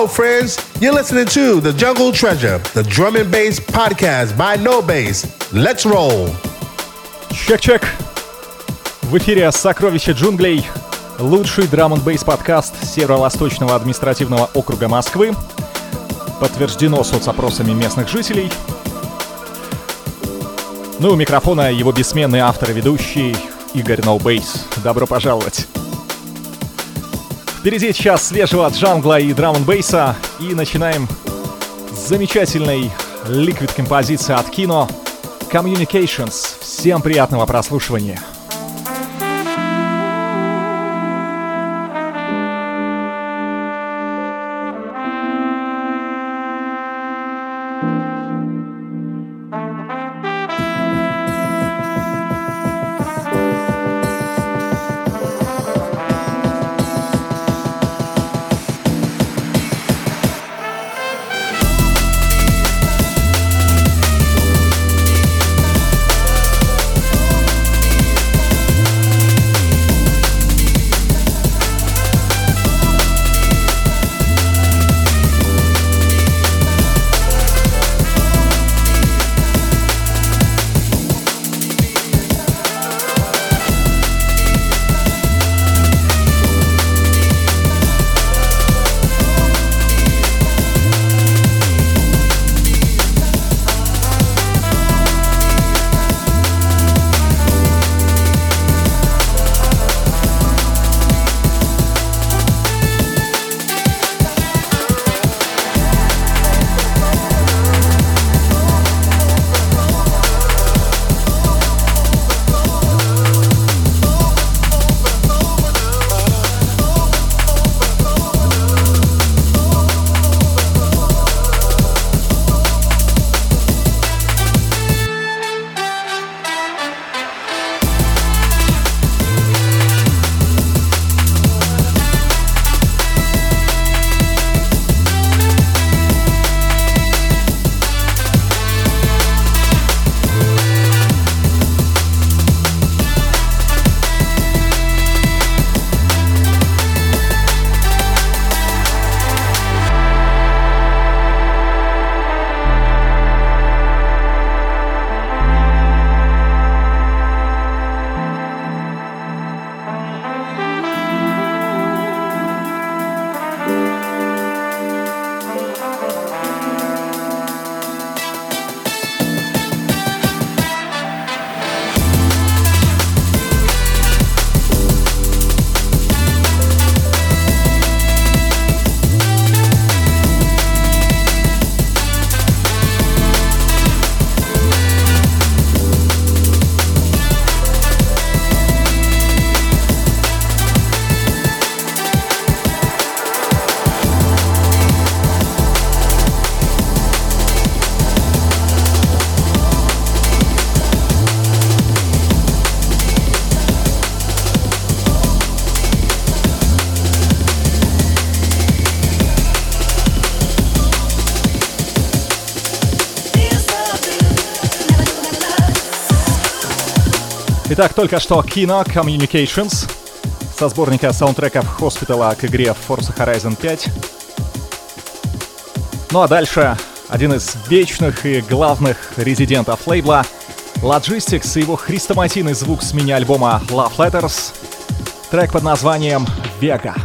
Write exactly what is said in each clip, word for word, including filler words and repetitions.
Hello, friends. You're listening to The Jungle Treasure, the drum and bass podcast by No Bass. Let's roll. Чек-чек. В эфире «Сокровища джунглей», лучший драм-н-бейс подкаст Северо-Восточного административного округа Москвы. Подтверждено соцопросами местных жителей. Ну и у микрофона его бессменный автор и ведущий Игорь No Bass. Добро пожаловать. Впереди час свежего джангла и драм-н-бейса. И начинаем с замечательной ликвид-композиции от Kino Communications. Всем приятного прослушивания. Итак, только что Kino Communications со сборника саундтреков Hospital к игре Forza Horizon пять. Ну а дальше один из вечных и главных резидентов лейбла Logistics и его хрестоматийный звук с мини-альбома Love Letters. Трек под названием «Vega».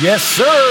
Yes, sir.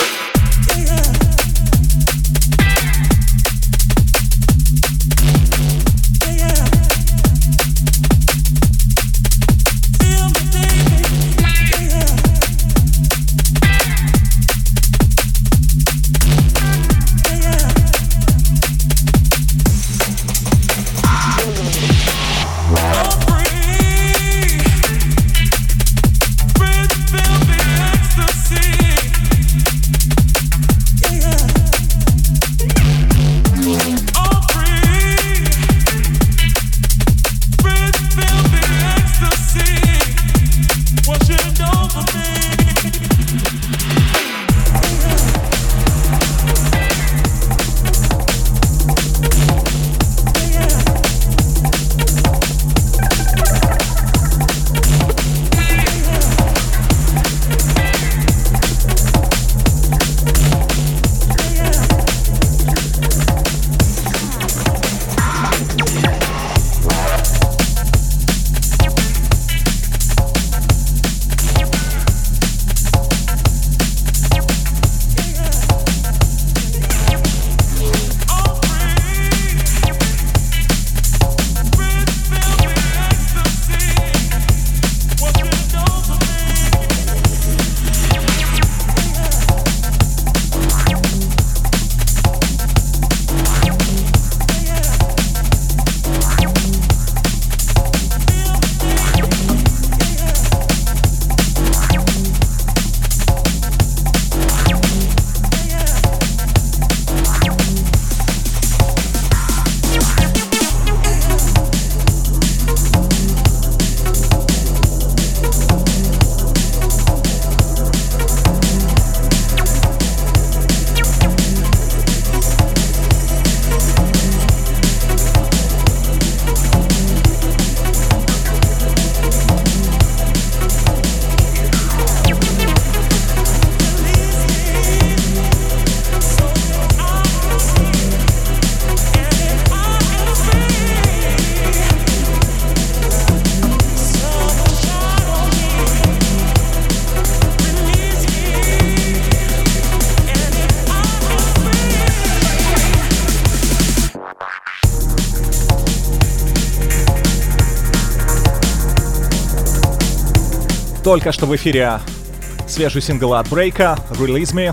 Только что в эфире свежий сингл от Брейка «Release Me».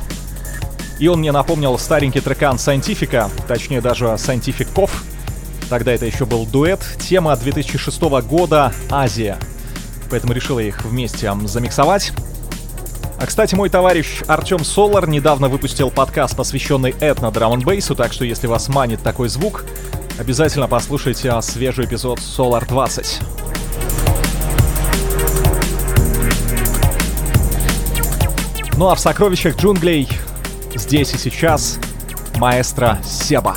И он мне напомнил старенький трекан Scientifica, точнее даже Scientific-ков. Тогда это еще был дуэт. Тема две тысячи шестого года «Азия». Поэтому решил их вместе замиксовать. А, кстати, мой товарищ Артем Солар недавно выпустил подкаст, посвященный этно-драм-н-бейсу, так что если вас манит такой звук, обязательно послушайте свежий эпизод Solar двадцать. Ну а в сокровищах джунглей здесь и сейчас маэстро Себа.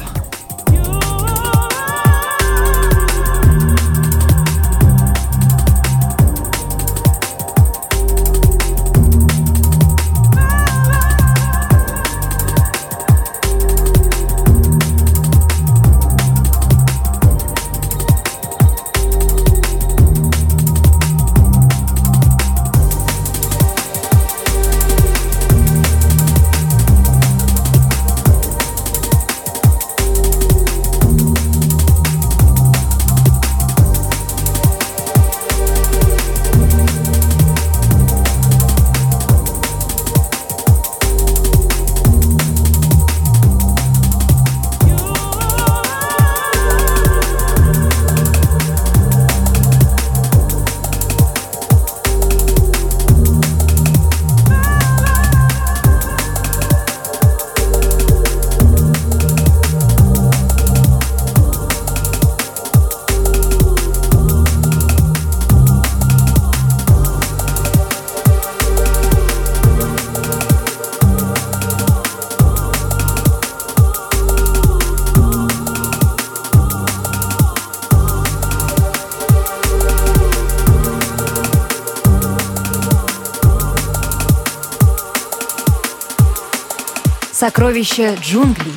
Сокровища джунглей.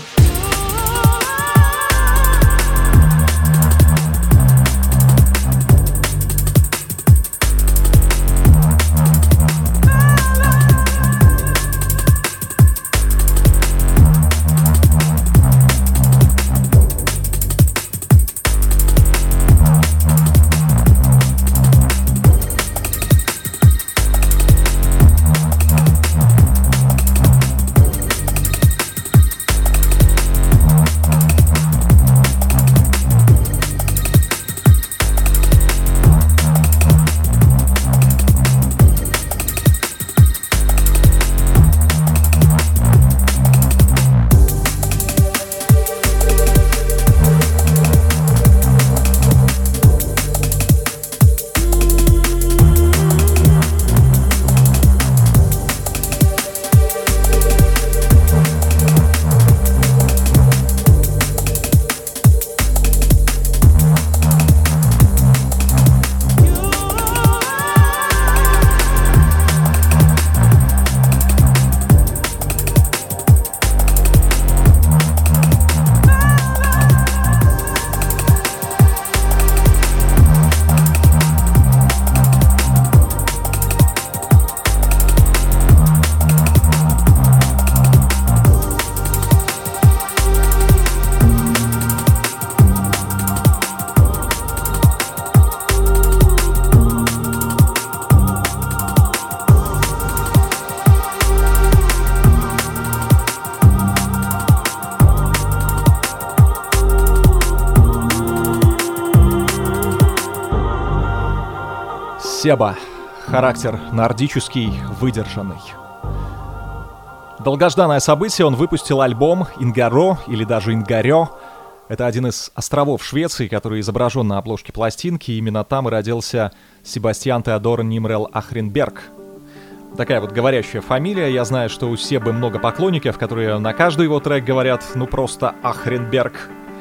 Себа. Характер нордический, выдержанный. Долгожданное событие, он выпустил альбом «Ингаро» или даже «Ингарё». Это один из островов Швеции, который изображен на обложке пластинки. Именно там и родился Себастьян Теодор Нимрел Ахренберг. Такая вот говорящая фамилия. Я знаю, что у Себы много поклонников, которые на каждый его трек говорят ну просто Ахренберг.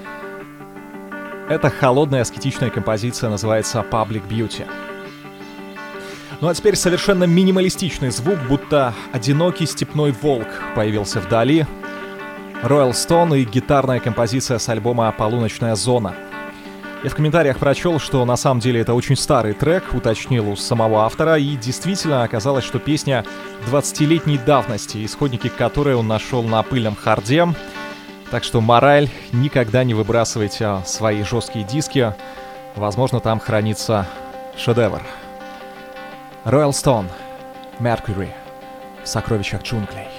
Это холодная аскетичная композиция, называется Public Beauty. Ну а теперь совершенно минималистичный звук, будто одинокий степной волк появился вдали. Royal Stone и гитарная композиция с альбома «Полуночная зона». Я в комментариях прочел, что на самом деле это очень старый трек, уточнил у самого автора, и действительно оказалось, что песня двадцатилетней давности, исходники которой он нашел на пыльном харде. Так что мораль: никогда не выбрасывайте свои жесткие диски, возможно, там хранится шедевр. Royal Stone, Mercury, в сокровищах джунглей.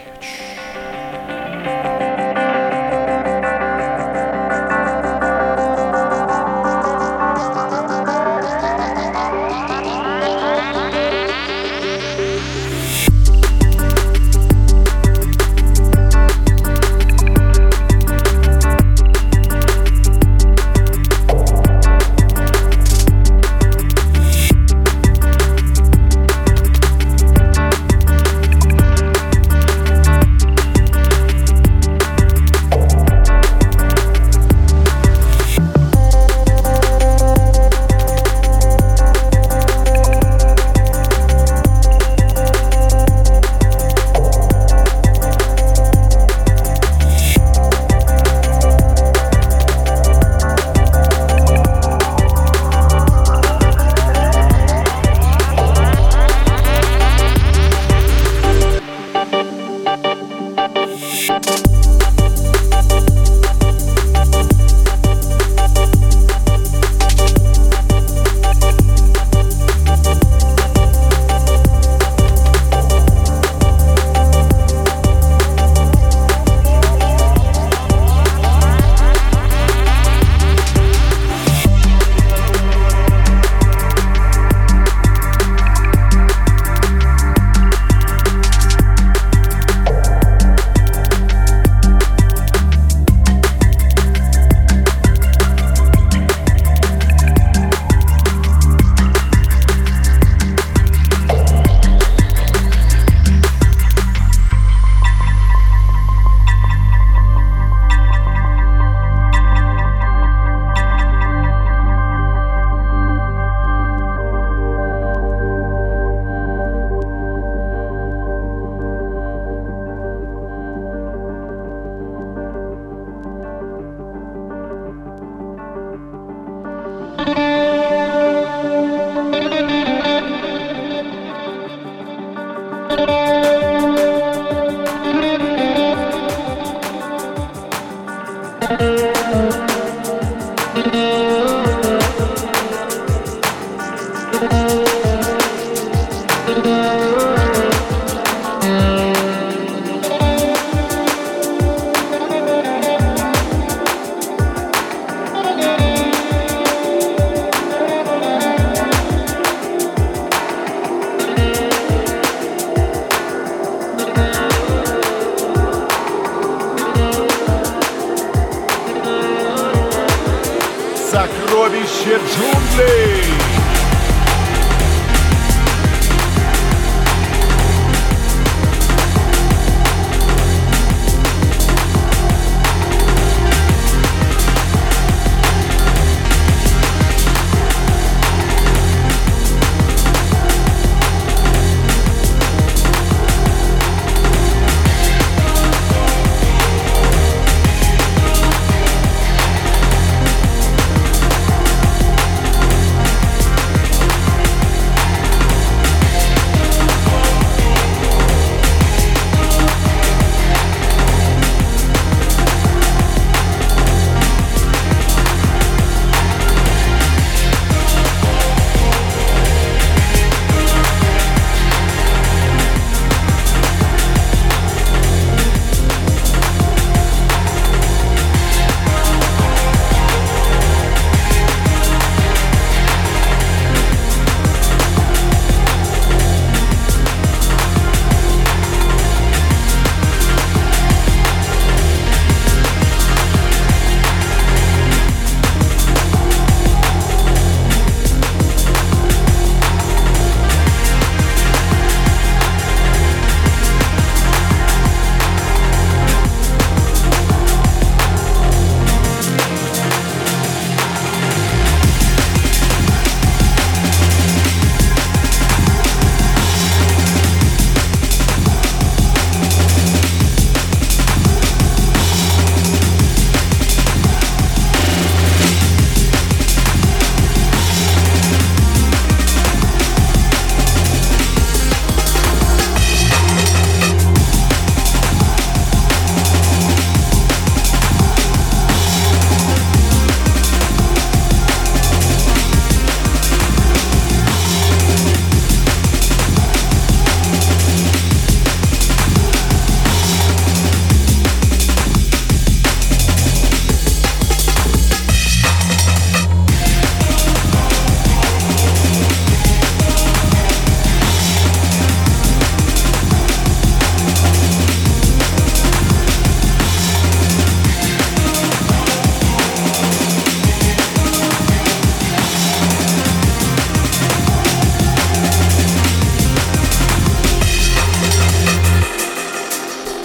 Сокровище джунглей!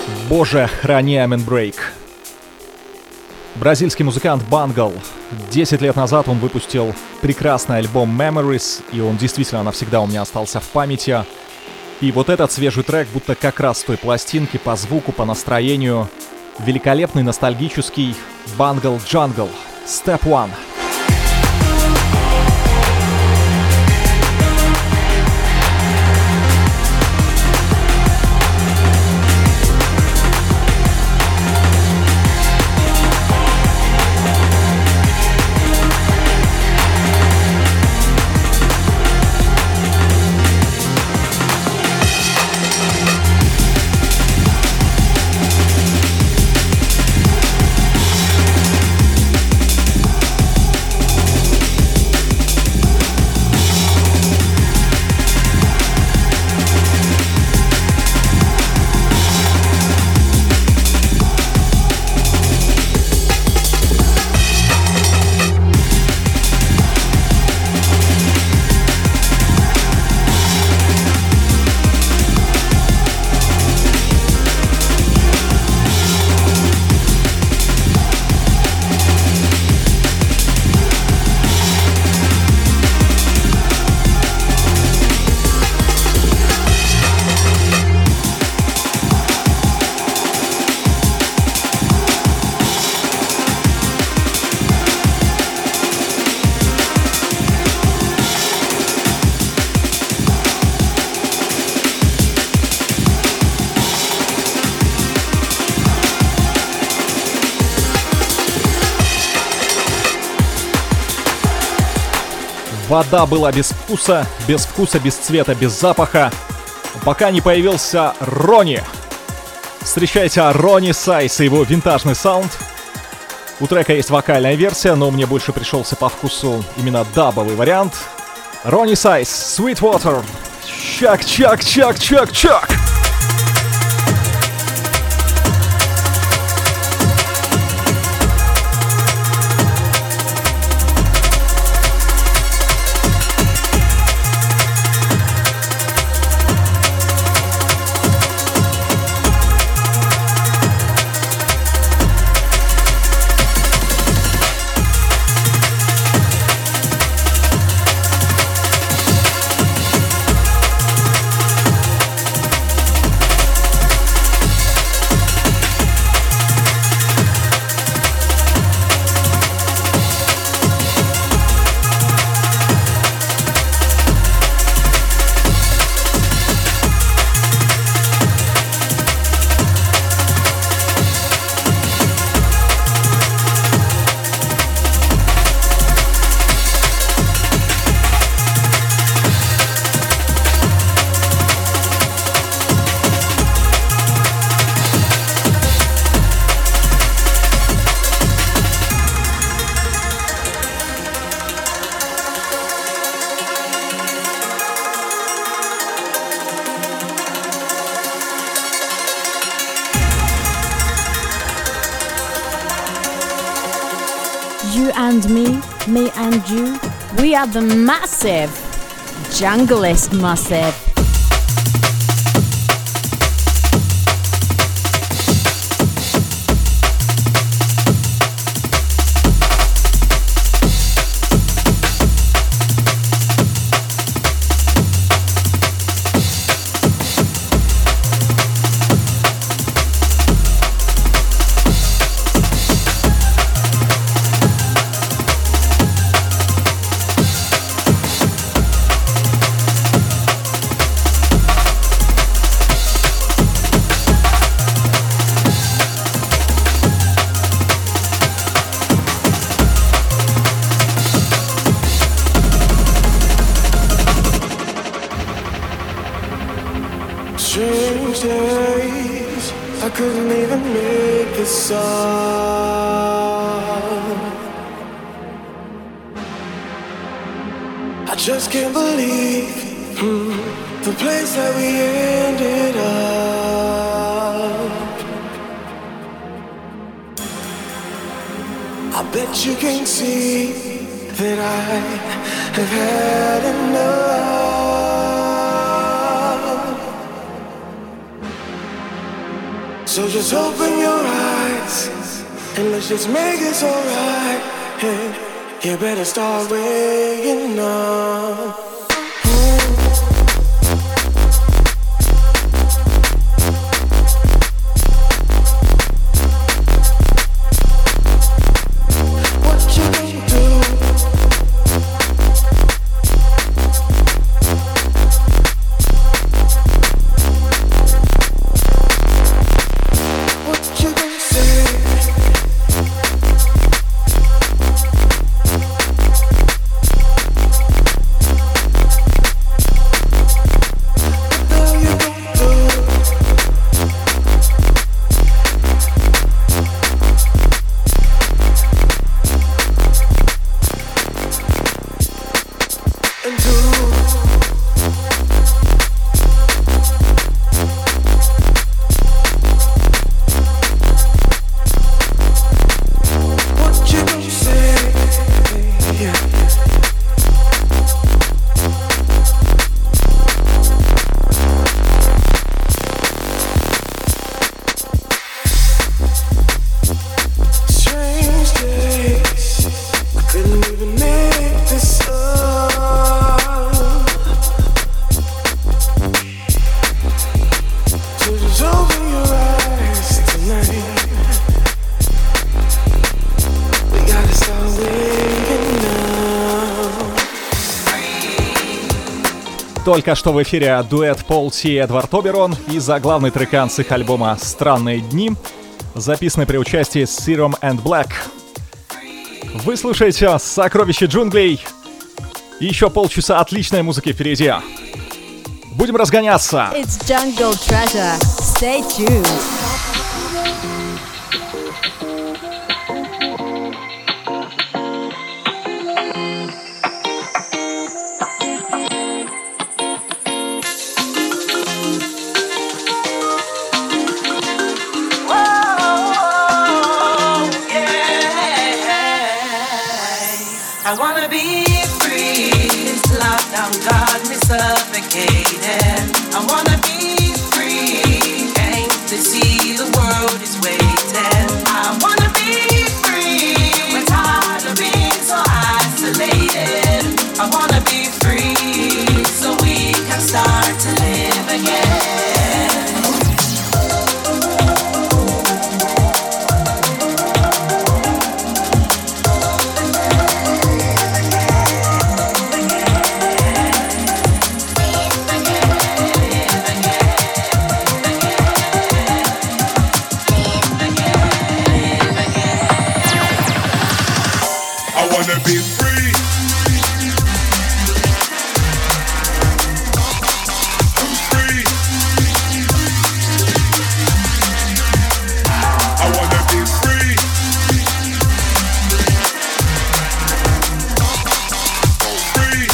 Боже, храни Amen Break. Бразильский музыкант Бангл. десять лет назад он выпустил прекрасный альбом Memories, и он действительно навсегда у меня остался в памяти. И вот этот свежий трек будто как раз с той пластинки по звуку, по настроению. Великолепный, ностальгический Бангл Jungle. Step One. Вода была без вкуса, без вкуса, без цвета, без запаха, пока не появился Ронни. Встречайте Ронни Сайз и его винтажный саунд. У трека есть вокальная версия, но мне больше пришелся по вкусу именно дабовый вариант. Ронни Сайз, Sweetwater. Чак, чак, чак, чак, чак. You and me, me and you, we are the massive, Junglist Massive. Strange days, I couldn't even make the song. I just can't believe hmm, the place that we ended up. I bet you can see that I have had enough. So just open your eyes and let's just make this alright. Hey, you better start waking up. Только что в эфире дуэт Пол Си и Эдвард Оберон и заглавный трекан с их альбома «Странные дни», записанный при участии Serum and Black. Вы слушаете «Сокровища джунглей». Еще полчаса отличной музыки впереди. Будем разгоняться. It's Jungle Treasure. Stay tuned. I wanna be free. This lockdown got me suffocating. I wanna be free. Came to see the world is waiting. I wanna be free. We're tired of being so isolated. I wanna be free so we can start to live again. Be free. I'm free. I wanna be free. Free.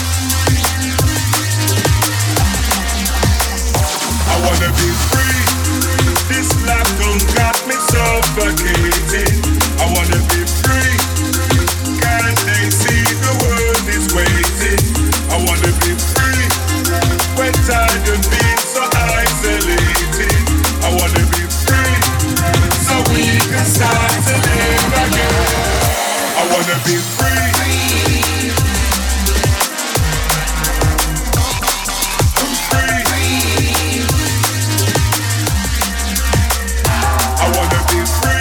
I wanna be free. This lockdown got me suffocated. I wanna be free. They see the world is waiting. I wanna be free. When tired of being so isolated. I wanna be free. So we can start to live again. I wanna be free. I'm free. I wanna be free.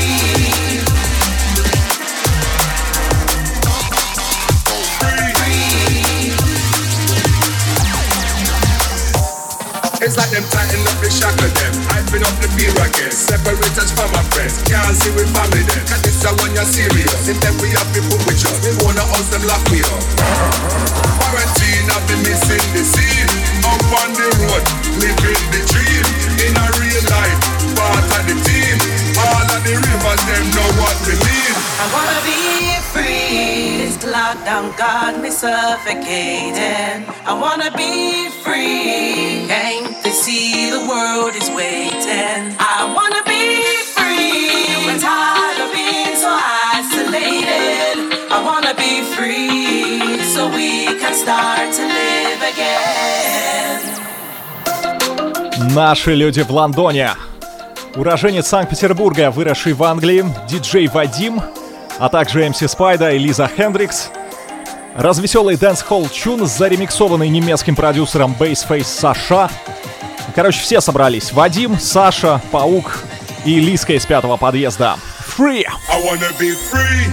It's like them tighten up the shock of them. Hyping up the fear again. Separate us from our friends. Can't see we family them. Cause this is when you're serious. If them we have people with us. They wanna house them lock me up. Quarantine, I've been missing the scene. Up on the road, living the dream. In a real life, part of the team. All of the rivers, them know what we mean. I wanna be free. This lockdown got me suffocating. I wanna be free. Came to see the world is waiting. I wanna be free. We're tired of being so isolated. I wanna be free so we can start to live again. Наши люди в Лондоне. Уроженец Санкт-Петербурга, выросший в Англии, диджей Вадим, а также эм си Спайда и Лиза Хендрикс. Развеселый дэнс-холл чун, заремиксованный немецким продюсером Bassface Саша. Короче, все собрались. Вадим, Саша, Паук и Лизка из пятого подъезда. Free! I wanna be free.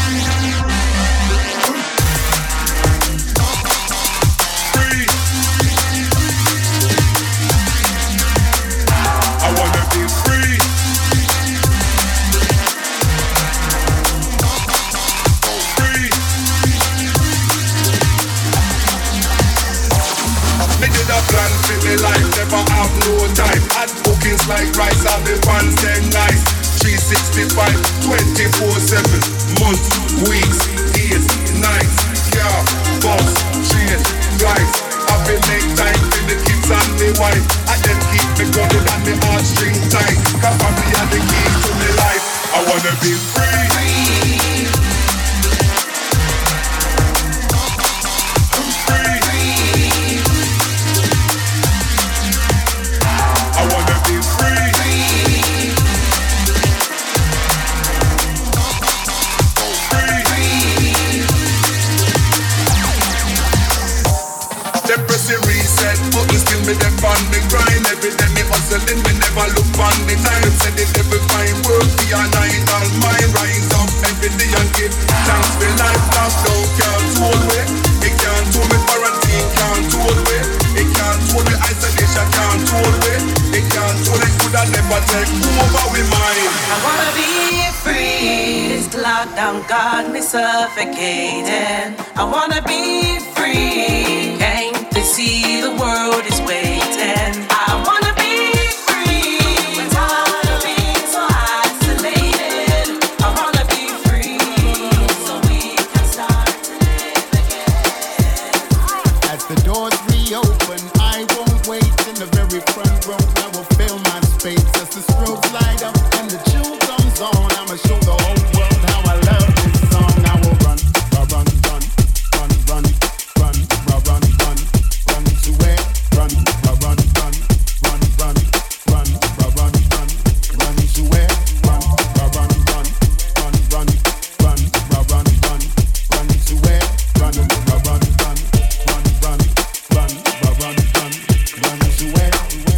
Life never have no time. Add bookings like rice, I'll be fans them nice. three sixty-five, twenty-four seven. Months, weeks, days, nights. Car, bus, train, flights. I've been make time for the kids and the wife. I then keep me grounded and the heartstring tight. Cause family are the key to my life. I wanna be free. free. Me them on me grind every day me hustling, me never look on the time. Said it every fine work for your nine all mine. Rise up every day and give thanks for life. Lost down can't hold me. It can't hold me, quarantine can't hold me. It can't hold me, isolation can't hold me. It can't hold it, could I never take over with mine. I wanna be free. This lockdown got me suffocating. I wanna be free. Came to see the world is waiting. I wanna be free. We're tired of being so isolated. I wanna be free, so we can start to live again. As the doors reopen, I won't wait in the very front row. I will fill my space as the strobes light up and the tune comes on. I'ma show the whole world how I love this song. I will run, run, run, run, run, run, run, run, run, run, run to where? Run, run, run, run, run, run, run, run, run, run, run to where? Run, run, run, run, run, run, run, run, run, run, run to where? Run, run, run, run, run, run, run, run, run, run, run to where?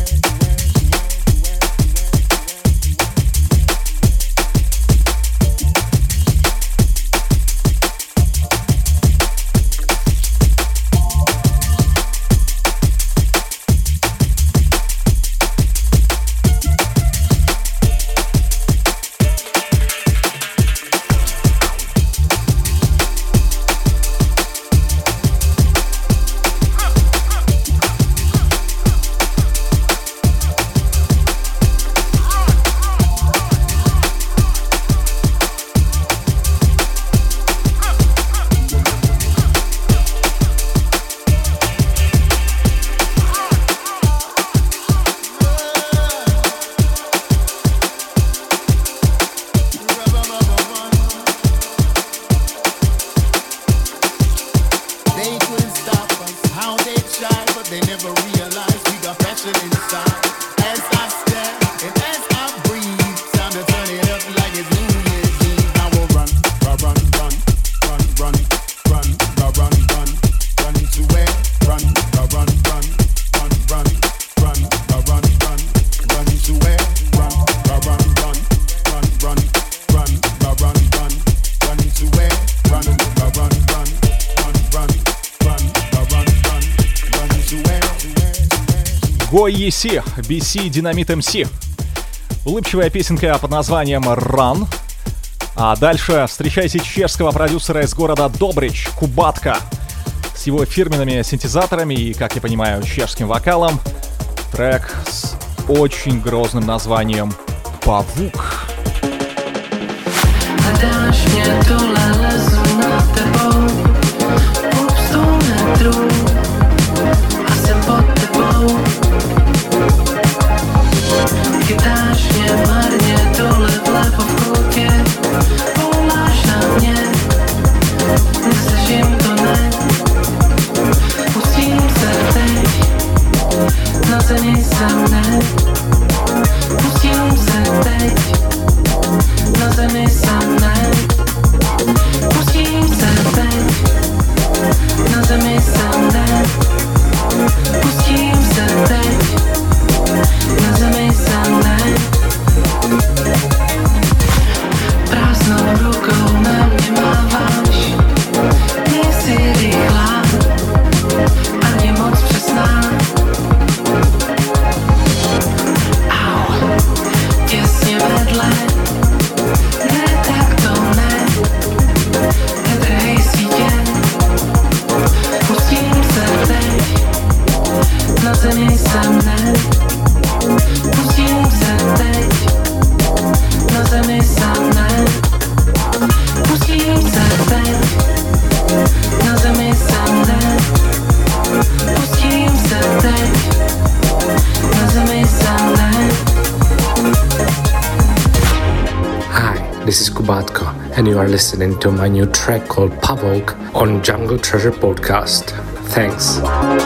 Go и си, би си Dynamite эм си. Улыбчивая песенка под названием Run. А дальше встречайте чешского продюсера из города Добрич, Кубатка, с его фирменными синтезаторами и, как я понимаю, чешским вокалом. Трек с очень грозным названием «Павук». Hledáš mě, tohle lezu nad tebou, půl sto metrů a jsem pod tebou. Chytáš mě marně, tohle vlevo v koutě, voláš na mě, neslyším to, ne. Pustím se teď, na zemi se mne, pustím se This is Kubatko, and you are listening to my new track called Pavok on Jungle Treasure Podcast. Thanks.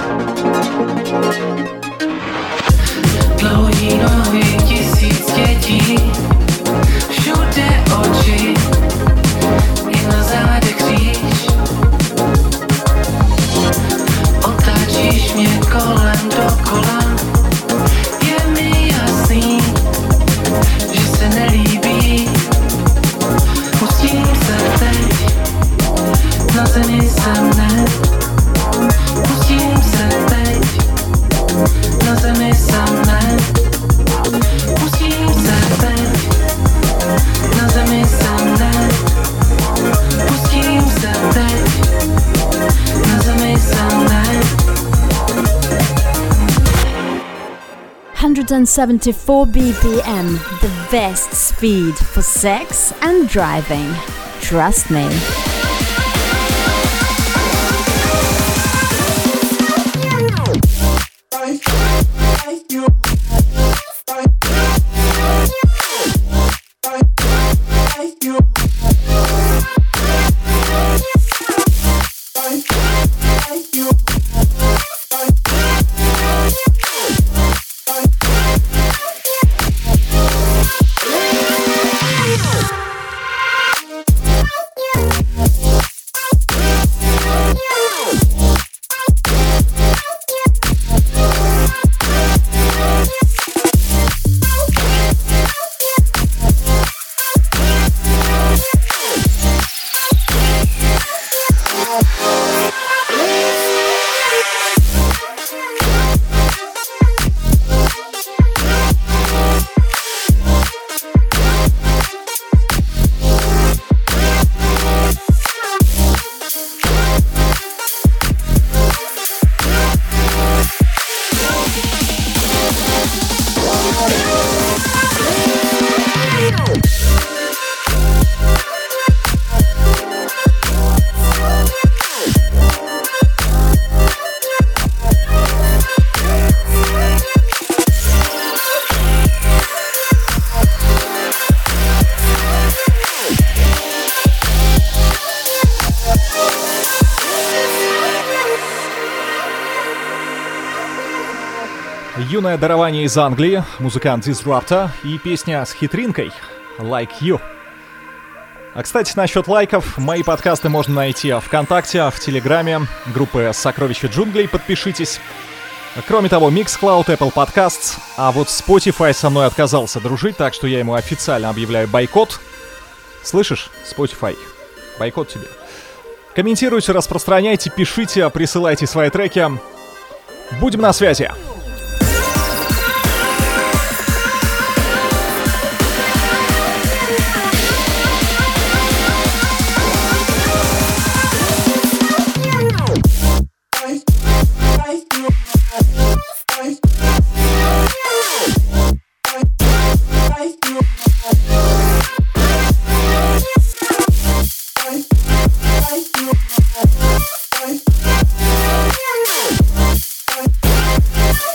one seventy-four B P M, the best speed for sex and driving. Trust me. Юное дарование из Англии, музыкант Disruptor и песня с хитринкой «Like You». А, кстати, насчет лайков, мои подкасты можно найти ВКонтакте, в Телеграме, группы «Сокровища джунглей», подпишитесь. Кроме того, Mixcloud, Apple Podcasts, а вот Spotify со мной отказался дружить, так что я ему официально объявляю бойкот. Слышишь, Spotify? Бойкот тебе. Комментируйте, распространяйте, пишите, присылайте свои треки. Будем на связи. Bye.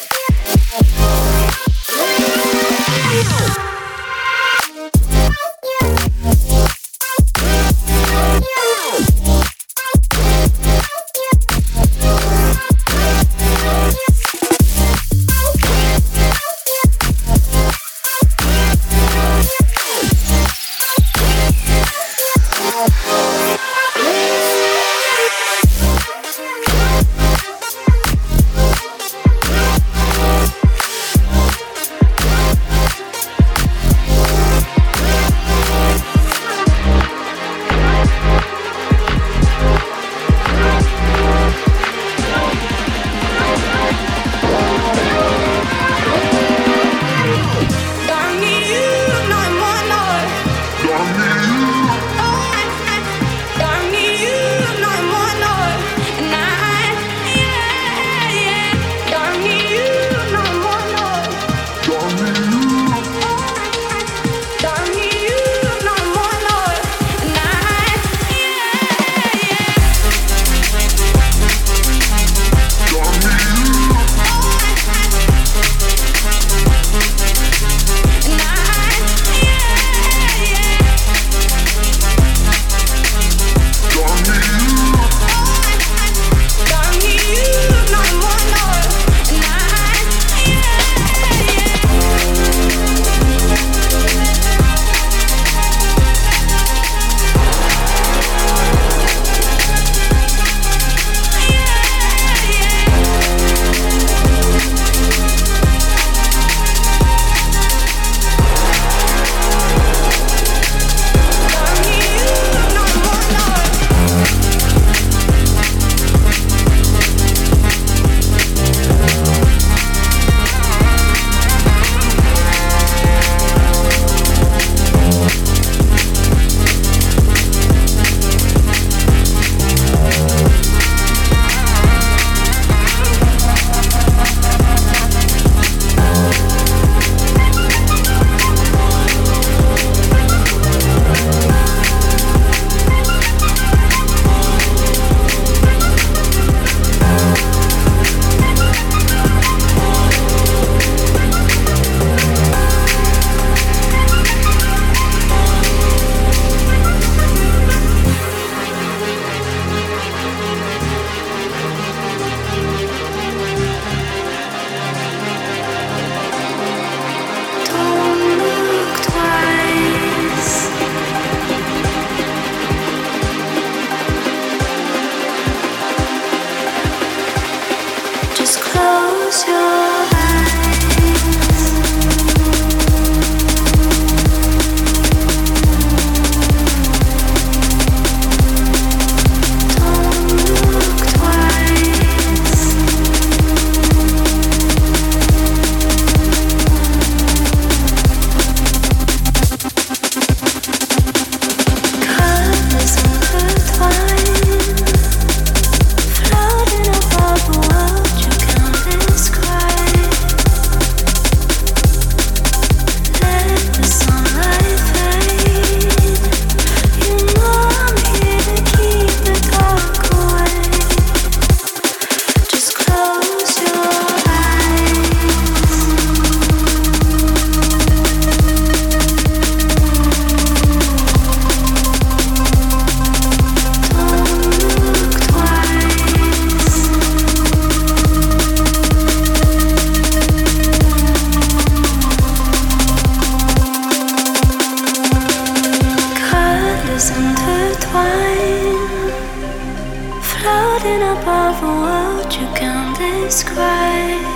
us intertwine, floating above a world you can't describe.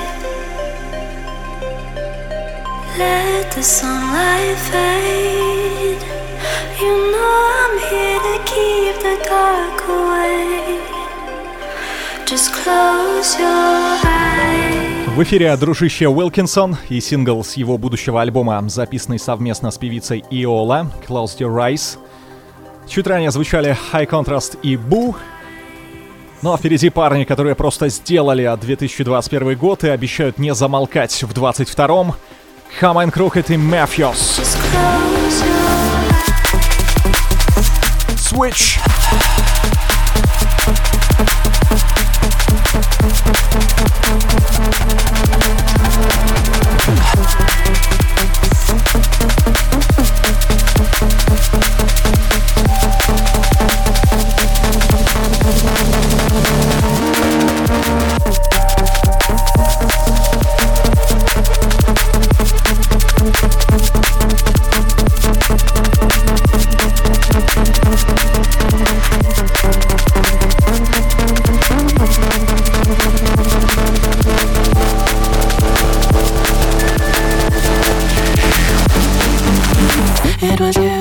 Let the sunlight fade. You know I'm here to keep the dark away. Just close your eyes. В эфире дружище Уилкинсон и сингл с его будущего альбома, записанный совместно с певицей Иола, Close Your Eyes. Чуть ранее звучали High Contrast и Boo. Ну а впереди парни, которые просто сделали две тысячи двадцать первый год и обещают не замолкать в двадцать втором. Хамайн Крокет и Mafios. Switch. It was you.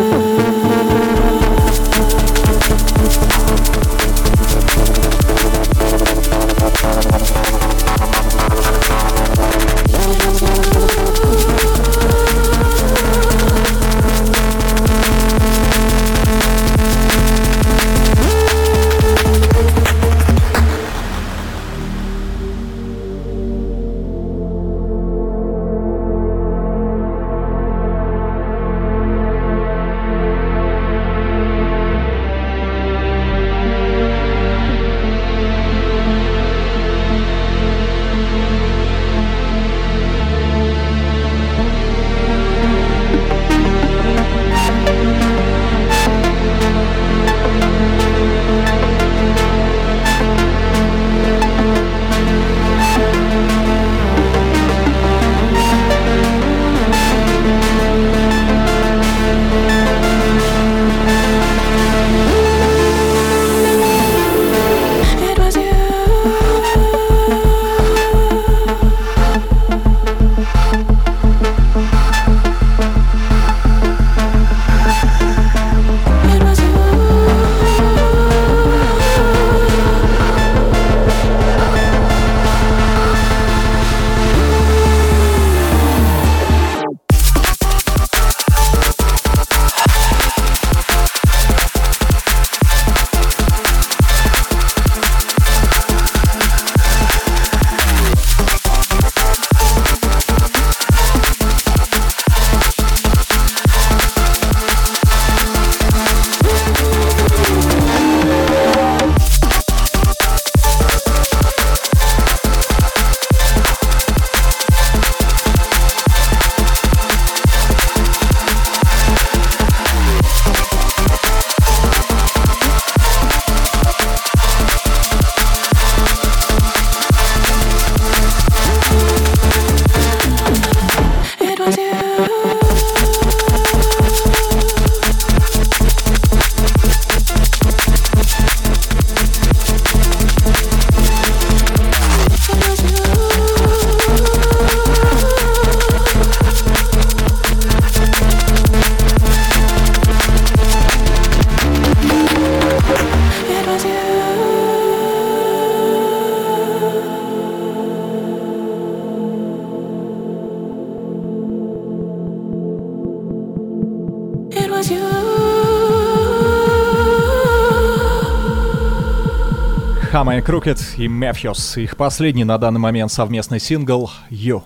Хамайн Крокет и Mafios. Их последний на данный момент совместный сингл «You»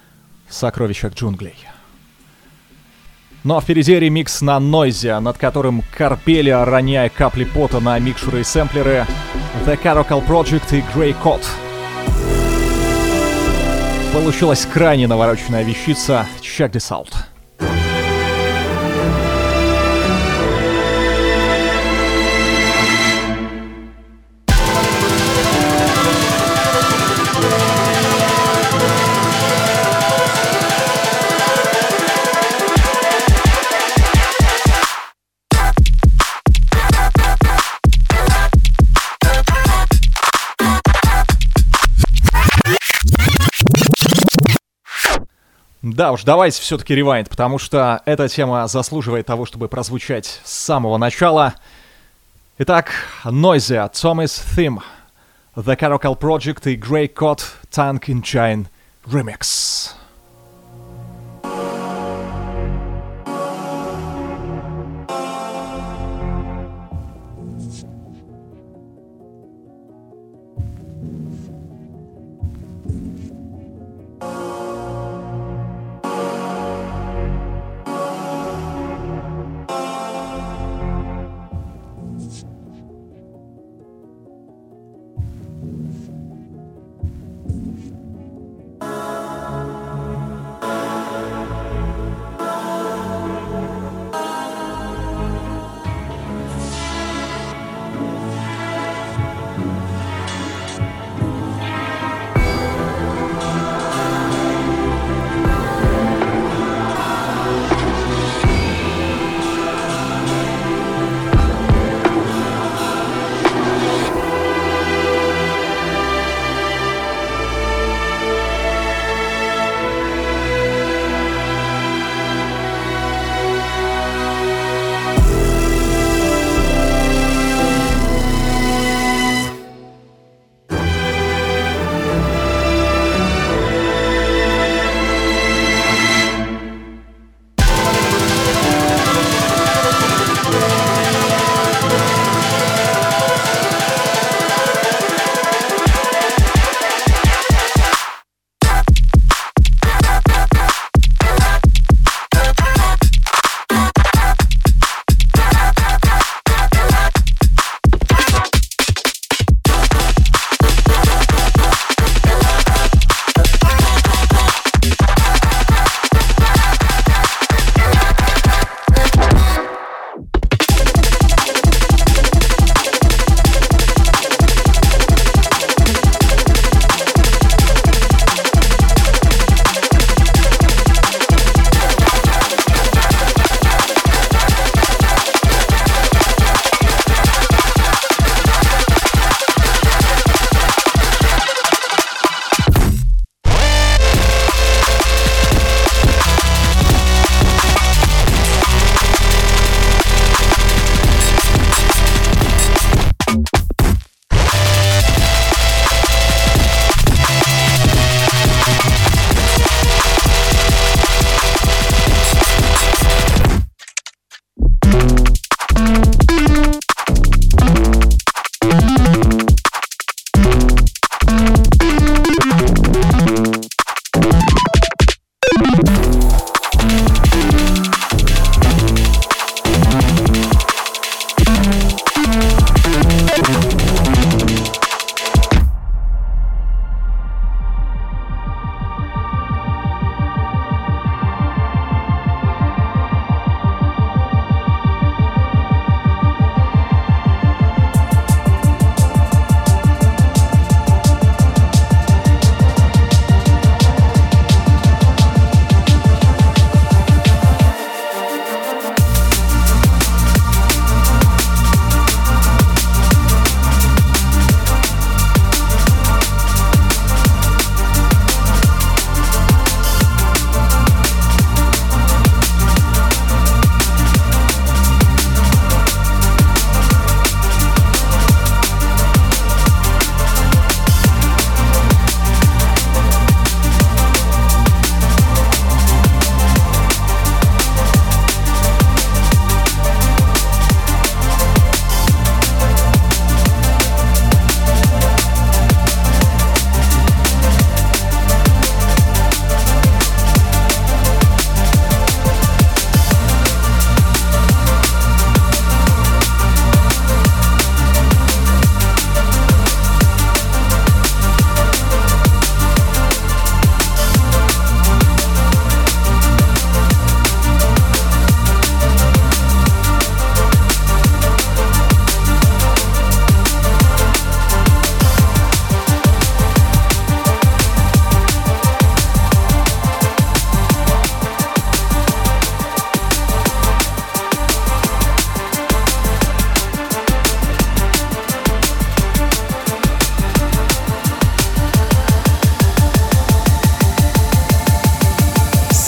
в сокровищах джунглей. Ну а впереди ремикс на Noisia, над которым корпели, роняя капли пота на микшеры и сэмплеры, The Caracal Project и Grey Code. Получилась крайне навороченная вещица. Check this out. Да уж, давайте все-таки ревайнд, потому что эта тема заслуживает того, чтобы прозвучать с самого начала. Итак, Noisia, Thomas Theme, The Caracal Project и Grey Code Tongue in Chain Remix.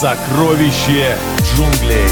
Сокровище джунглей.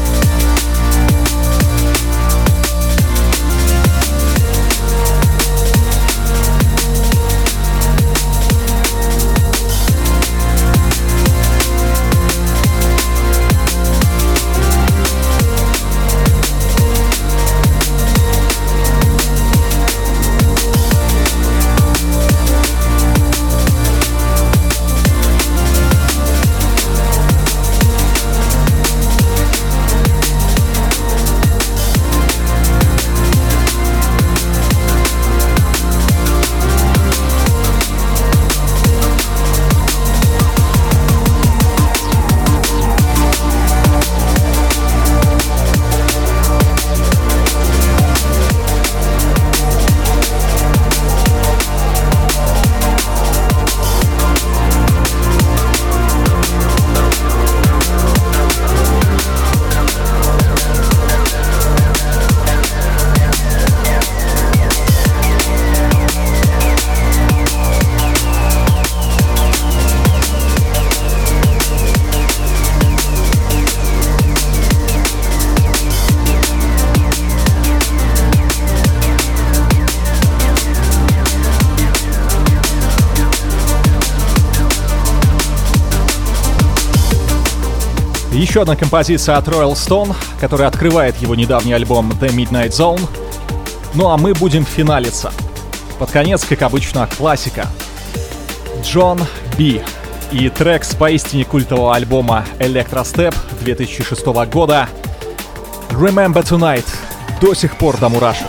Еще одна композиция от Royal Stone, которая открывает его недавний альбом The Midnight Zone. Ну а мы будем финалиться. Под конец, как обычно, классика. Джон Би и трек с поистине культового альбома Electrostep две тысячи шестого года Remember Tonight. До сих пор до мурашек.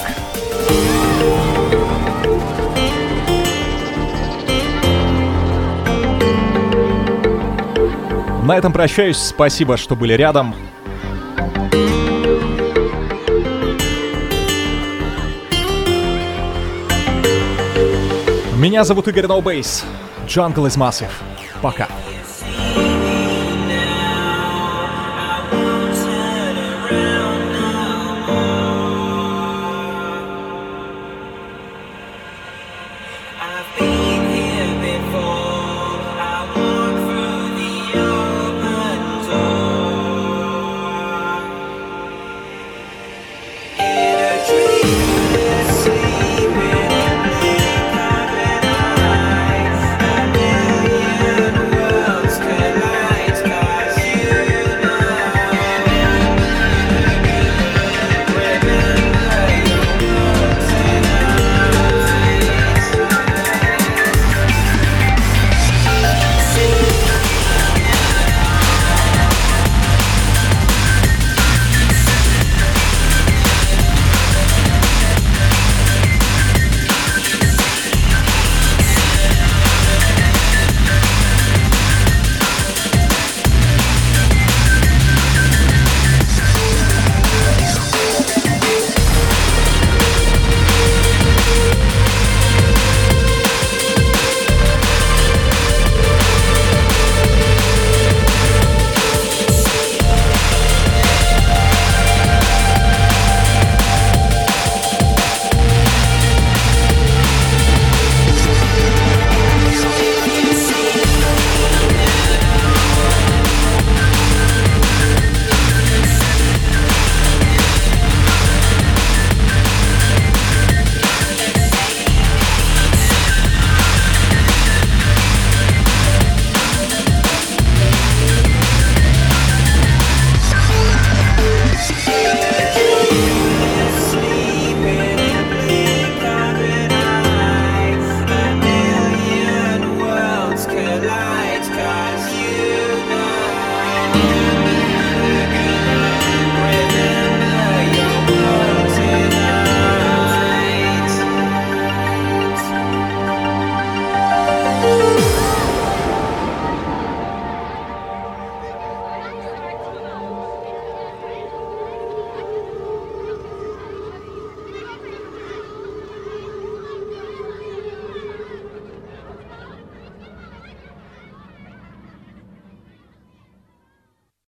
На этом прощаюсь. Спасибо, что были рядом. Меня зовут Игорь No Bass. Jungle is Massive. Пока.